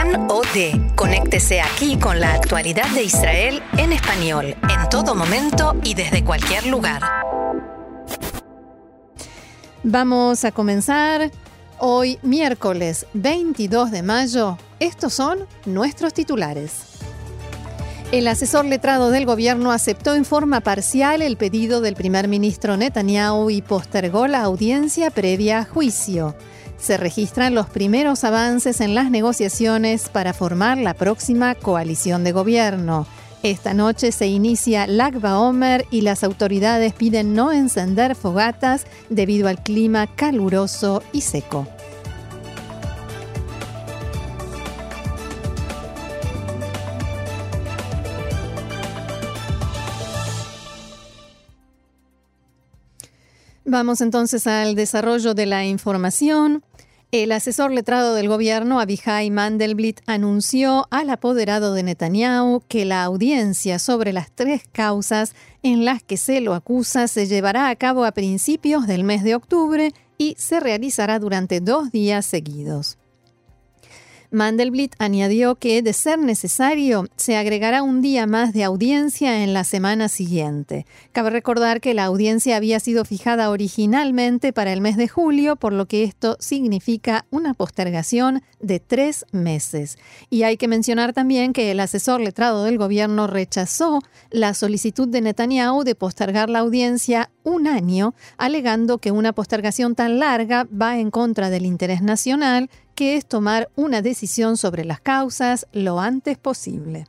Con o de. Conéctese aquí con la actualidad de Israel en español, en todo momento y desde cualquier lugar. Vamos a comenzar hoy, miércoles 22 de mayo. Estos son nuestros titulares. El asesor letrado del gobierno aceptó en forma parcial el pedido del primer ministro Netanyahu y postergó la audiencia previa a juicio. Se registran los primeros avances en las negociaciones para formar la próxima coalición de gobierno. Esta noche se inicia Lag BaOmer y las autoridades piden no encender fogatas debido al clima caluroso y seco. Vamos entonces al desarrollo de la información. El asesor letrado del gobierno, Avichai Mandelblit, anunció al apoderado de Netanyahu que la audiencia sobre las 3 causas en las que se lo acusa se llevará a cabo a principios del mes de octubre y se realizará durante 2 días seguidos. Mandelblit añadió que, de ser necesario, se agregará un día más de audiencia en la semana siguiente. Cabe recordar que la audiencia había sido fijada originalmente para el mes de julio, por lo que esto significa una postergación de 3 meses. Y hay que mencionar también que el asesor letrado del gobierno rechazó la solicitud de Netanyahu de postergar la audiencia 1 año, alegando que una postergación tan larga va en contra del interés nacional, que es tomar una decisión sobre las causas lo antes posible.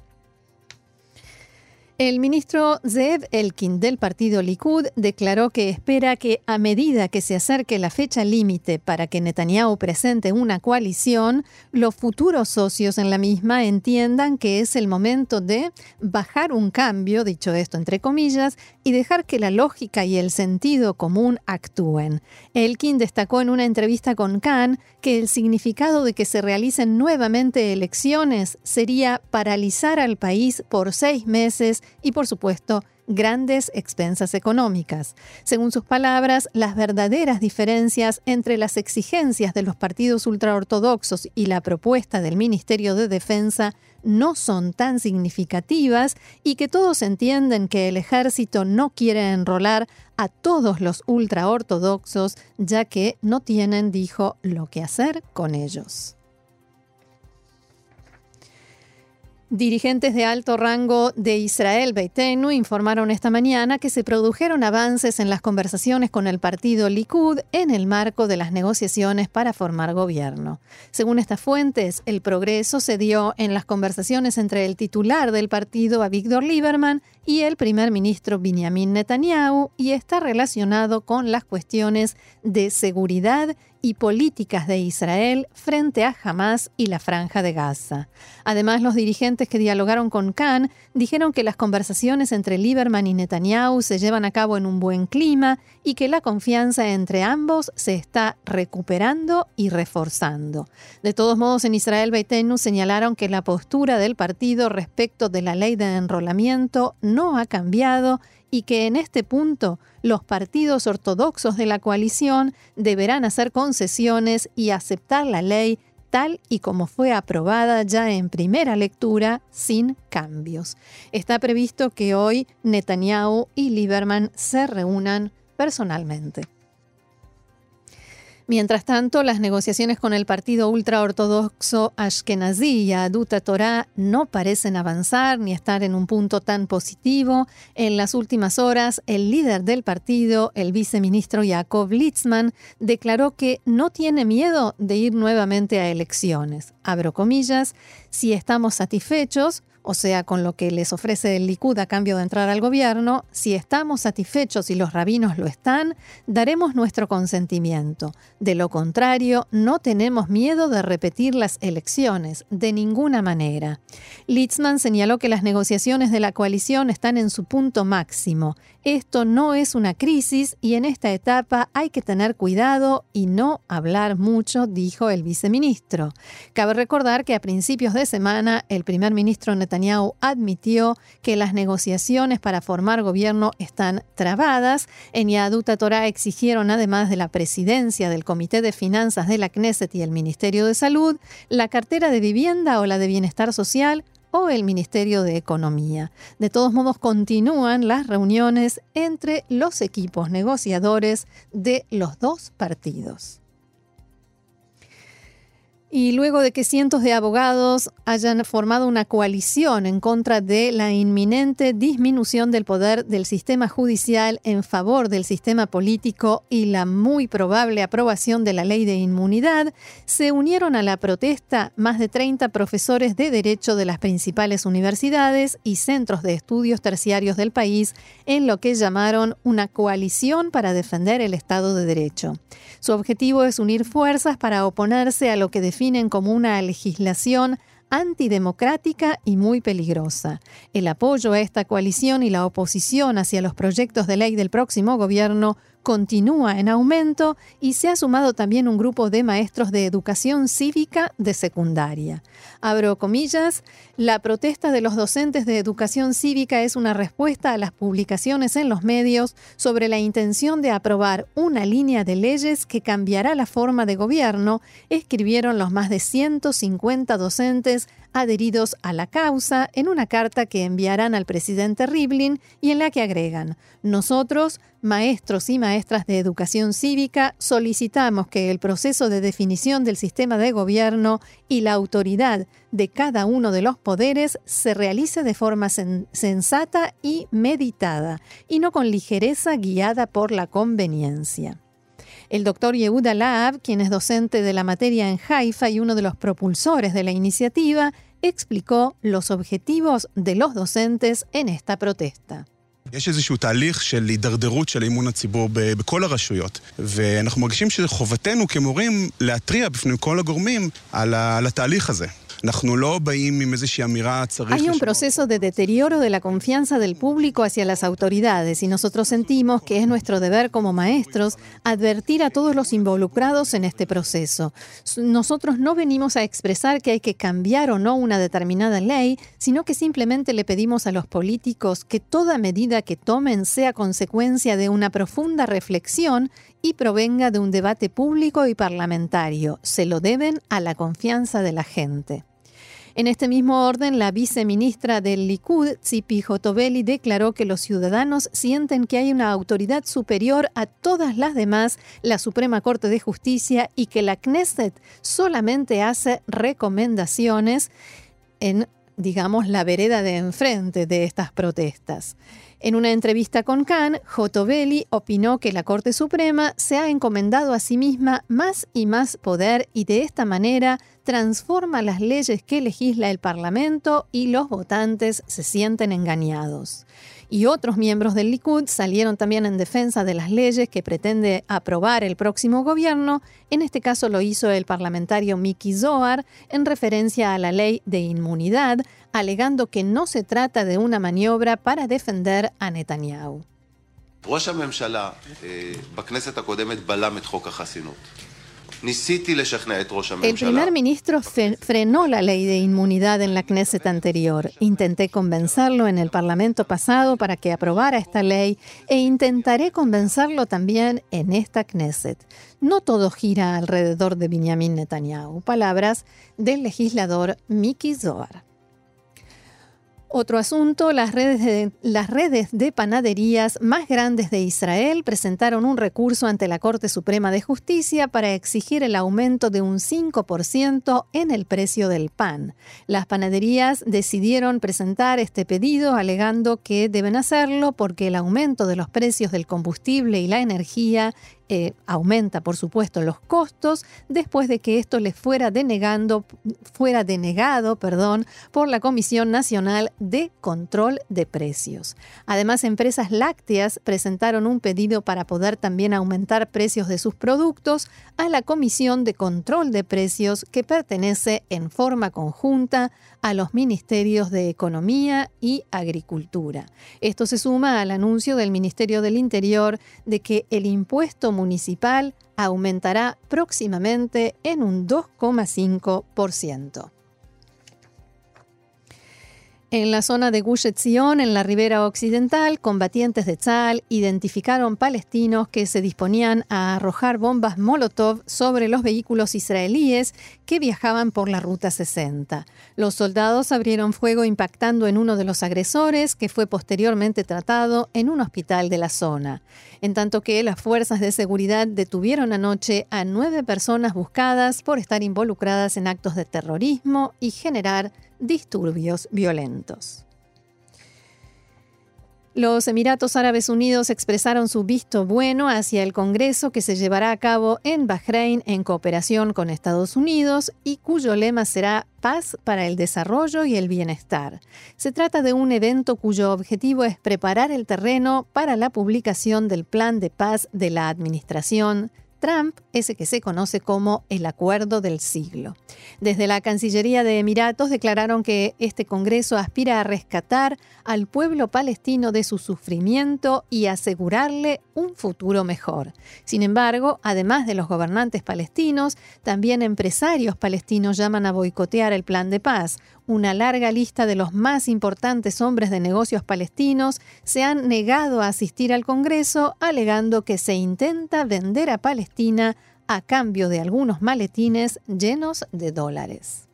El ministro Zeev Elkin del partido Likud declaró que espera que a medida que se acerque la fecha límite para que Netanyahu presente una coalición, los futuros socios en la misma entiendan que es el momento de bajar un cambio, dicho esto entre comillas, y dejar que la lógica y el sentido común actúen. Elkin destacó en una entrevista con Kan que el significado de que se realicen nuevamente elecciones sería paralizar al país por 6 meses y, por supuesto, grandes expensas económicas. Según sus palabras, las verdaderas diferencias entre las exigencias de los partidos ultraortodoxos y la propuesta del Ministerio de Defensa no son tan significativas y que todos entienden que el ejército no quiere enrolar a todos los ultraortodoxos, ya que no tienen, dijo, lo que hacer con ellos. Dirigentes de alto rango de Israel Beitenu informaron esta mañana que se produjeron avances en las conversaciones con el partido Likud en el marco de las negociaciones para formar gobierno. Según estas fuentes, el progreso se dio en las conversaciones entre el titular del partido, Avigdor Lieberman, y el primer ministro Benjamin Netanyahu, y está relacionado con las cuestiones de seguridad y políticas de Israel frente a Hamás y la Franja de Gaza. Además, los dirigentes que dialogaron con Kan dijeron que las conversaciones entre Lieberman y Netanyahu se llevan a cabo en un buen clima y que la confianza entre ambos se está recuperando y reforzando. De todos modos, en Israel Beitenu señalaron que la postura del partido respecto de la ley de enrolamiento no ha cambiado y que en este punto los partidos ortodoxos de la coalición deberán hacer concesiones y aceptar la ley tal y como fue aprobada ya en primera lectura, sin cambios. Está previsto que hoy Netanyahu y Lieberman se reúnan personalmente. Mientras tanto, las negociaciones con el partido ultraortodoxo Ashkenazí y Yahadut HaTorah no parecen avanzar ni estar en un punto tan positivo. En las últimas horas, el líder del partido, el viceministro Yaakov Litzman, declaró que no tiene miedo de ir nuevamente a elecciones. Abro comillas, si estamos satisfechos, o sea, con lo que les ofrece el Likud a cambio de entrar al gobierno, si estamos satisfechos y los rabinos lo están, daremos nuestro consentimiento. De lo contrario, no tenemos miedo de repetir las elecciones, de ninguna manera. Litzman señaló que las negociaciones de la coalición están en su punto máximo. Esto no es una crisis y en esta etapa hay que tener cuidado y no hablar mucho, dijo el viceministro. Cabe recordar que a principios de semana el primer ministro Netanyahu Netanyahu admitió que las negociaciones para formar gobierno están trabadas. En Yehadut Torá exigieron, además de la presidencia del Comité de Finanzas de la Knesset y el Ministerio de Salud, la cartera de vivienda o la de bienestar social o el Ministerio de Economía. De todos modos, continúan las reuniones entre los equipos negociadores de los dos partidos. Y luego de que cientos de abogados hayan formado una coalición en contra de la inminente disminución del poder del sistema judicial en favor del sistema político y la muy probable aprobación de la ley de inmunidad, se unieron a la protesta más de 30 profesores de derecho de las principales universidades y centros de estudios terciarios del país en lo que llamaron una coalición para defender el Estado de Derecho. Su objetivo es unir fuerzas para oponerse a lo que definen como una legislación antidemocrática y muy peligrosa. El apoyo a esta coalición y la oposición hacia los proyectos de ley del próximo gobierno continúa en aumento y se ha sumado también un grupo de maestros de educación cívica de secundaria. Abro comillas, la protesta de los docentes de educación cívica es una respuesta a las publicaciones en los medios sobre la intención de aprobar una línea de leyes que cambiará la forma de gobierno, escribieron los más de 150 docentes adheridos a la causa en una carta que enviarán al presidente Rivlin y en la que agregan: nosotros, maestros y maestras de educación cívica, solicitamos que el proceso de definición del sistema de gobierno y la autoridad de cada uno de los poderes se realice de forma sensata y meditada, y no con ligereza guiada por la conveniencia. El doctor Yehuda Laab, quien es docente de la materia en Haifa y uno de los propulsores de la iniciativa, explicó los objetivos de los docentes en esta protesta. יש איזשהו תהליך של הידרדרות של אמון הציבור בכל הרשויות, ואנחנו מרגישים שזה חובתנו כמורים להתריע בפני כל הגורמים על התהליך הזה. Hay un proceso de deterioro de la confianza del público hacia las autoridades y nosotros sentimos que es nuestro deber como maestros advertir a todos los involucrados en este proceso. Nosotros no venimos a expresar que hay que cambiar o no una determinada ley, sino que simplemente le pedimos a los políticos que toda medida que tomen sea consecuencia de una profunda reflexión y provenga de un debate público y parlamentario. Se lo deben a la confianza de la gente. En este mismo orden, la viceministra del Likud, Tzipi Hotovely, declaró que los ciudadanos sienten que hay una autoridad superior a todas las demás, la Suprema Corte de Justicia, y que la Knesset solamente hace recomendaciones en, digamos, la vereda de enfrente de estas protestas. En una entrevista con Kan, Hotovely opinó que la Corte Suprema se ha encomendado a sí misma más y más poder y de esta manera transforma las leyes que legisla el Parlamento y los votantes se sienten engañados. Y otros miembros del Likud salieron también en defensa de las leyes que pretende aprobar el próximo gobierno. En este caso lo hizo el parlamentario Miki Zohar en referencia a la ley de inmunidad, alegando que no se trata de una maniobra para defender a Netanyahu. ראש הממשלה בכנסת הקודמת בלם את חוק החסינות. El primer ministro frenó la ley de inmunidad en la Knesset anterior. Intenté convencerlo en el Parlamento pasado para que aprobara esta ley e intentaré convencerlo también en esta Knesset. No todo gira alrededor de Benjamin Netanyahu. Palabras del legislador Miki Zohar. Otro asunto, las redes de panaderías más grandes de Israel presentaron un recurso ante la Corte Suprema de Justicia para exigir el aumento de un 5% en el precio del pan. Las panaderías decidieron presentar este pedido alegando que deben hacerlo porque el aumento de los precios del combustible y la energía aumenta, por supuesto, los costos después de que esto les fuera denegado por la Comisión Nacional de Control de Precios. Además, empresas lácteas presentaron un pedido para poder también aumentar precios de sus productos a la Comisión de Control de Precios que pertenece en forma conjunta a los Ministerios de Economía y Agricultura. Esto se suma al anuncio del Ministerio del Interior de que el impuesto municipal aumentará próximamente en un 2,5%. En la zona de Gush Etzion, en la ribera occidental, combatientes de Tzal identificaron palestinos que se disponían a arrojar bombas Molotov sobre los vehículos israelíes que viajaban por la Ruta 60. Los soldados abrieron fuego impactando en uno de los agresores, que fue posteriormente tratado en un hospital de la zona. En tanto que las fuerzas de seguridad detuvieron anoche a 9 personas buscadas por estar involucradas en actos de terrorismo y generar disturbios violentos. Los Emiratos Árabes Unidos expresaron su visto bueno hacia el Congreso que se llevará a cabo en Bahrein en cooperación con Estados Unidos y cuyo lema será Paz para el Desarrollo y el Bienestar. Se trata de un evento cuyo objetivo es preparar el terreno para la publicación del Plan de Paz de la Administración Trump, ese que se conoce como el Acuerdo del Siglo. Desde la Cancillería de Emiratos declararon que este Congreso aspira a rescatar al pueblo palestino de su sufrimiento y asegurarle un futuro mejor. Sin embargo, además de los gobernantes palestinos, también empresarios palestinos llaman a boicotear el plan de paz. Una larga lista de los más importantes hombres de negocios palestinos se han negado a asistir al Congreso, alegando que se intenta vender a Palestina a cambio de algunos maletines llenos de dólares.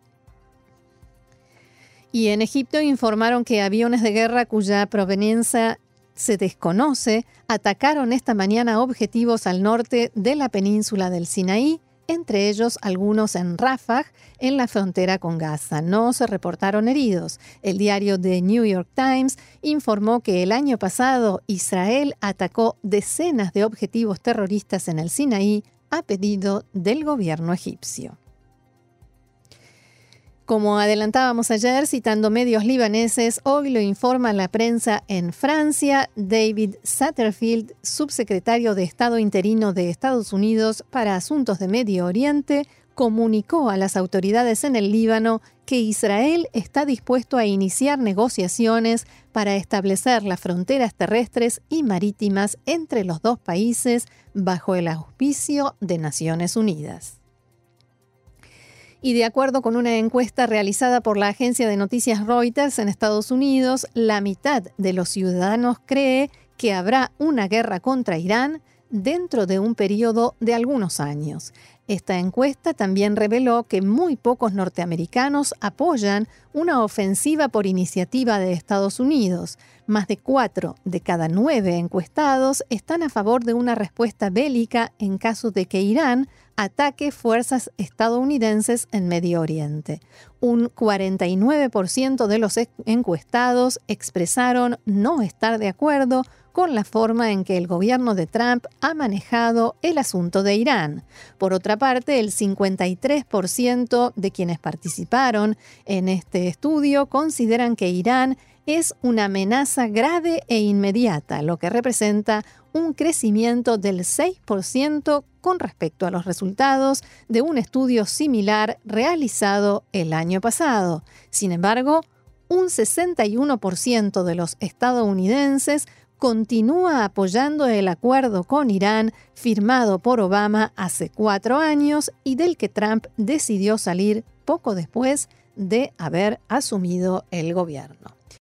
Y en Egipto informaron que aviones de guerra cuya proveniencia se desconoce atacaron esta mañana objetivos al norte de la península del Sinaí, entre ellos algunos en Rafah, en la frontera con Gaza. No se reportaron heridos. El diario The New York Times informó que el año pasado Israel atacó decenas de objetivos terroristas en el Sinaí a pedido del gobierno egipcio. Como adelantábamos ayer, citando medios libaneses, hoy lo informa la prensa en Francia. David Satterfield, subsecretario de Estado interino de Estados Unidos para Asuntos de Medio Oriente, comunicó a las autoridades en el Líbano que Israel está dispuesto a iniciar negociaciones para establecer las fronteras terrestres y marítimas entre los dos países bajo el auspicio de Naciones Unidas. Y de acuerdo con una encuesta realizada por la agencia de noticias Reuters en Estados Unidos, la mitad de los ciudadanos cree que habrá una guerra contra Irán dentro de un periodo de algunos años. Esta encuesta también reveló que muy pocos norteamericanos apoyan una ofensiva por iniciativa de Estados Unidos. Más de 4 de cada 9 encuestados están a favor de una respuesta bélica en caso de que Irán ataque fuerzas estadounidenses en Medio Oriente. Un 49% de los encuestados expresaron no estar de acuerdo con la forma en que el gobierno de Trump ha manejado el asunto de Irán. Por otra parte, el 53% de quienes participaron en este estudio consideran que Irán es una amenaza grave e inmediata, lo que representa un crecimiento del 6% con respecto a los resultados de un estudio similar realizado el año pasado. Sin embargo, un 61% de los estadounidenses continúa apoyando el acuerdo con Irán firmado por Obama hace 4 años y del que Trump decidió salir poco después de haber asumido el gobierno.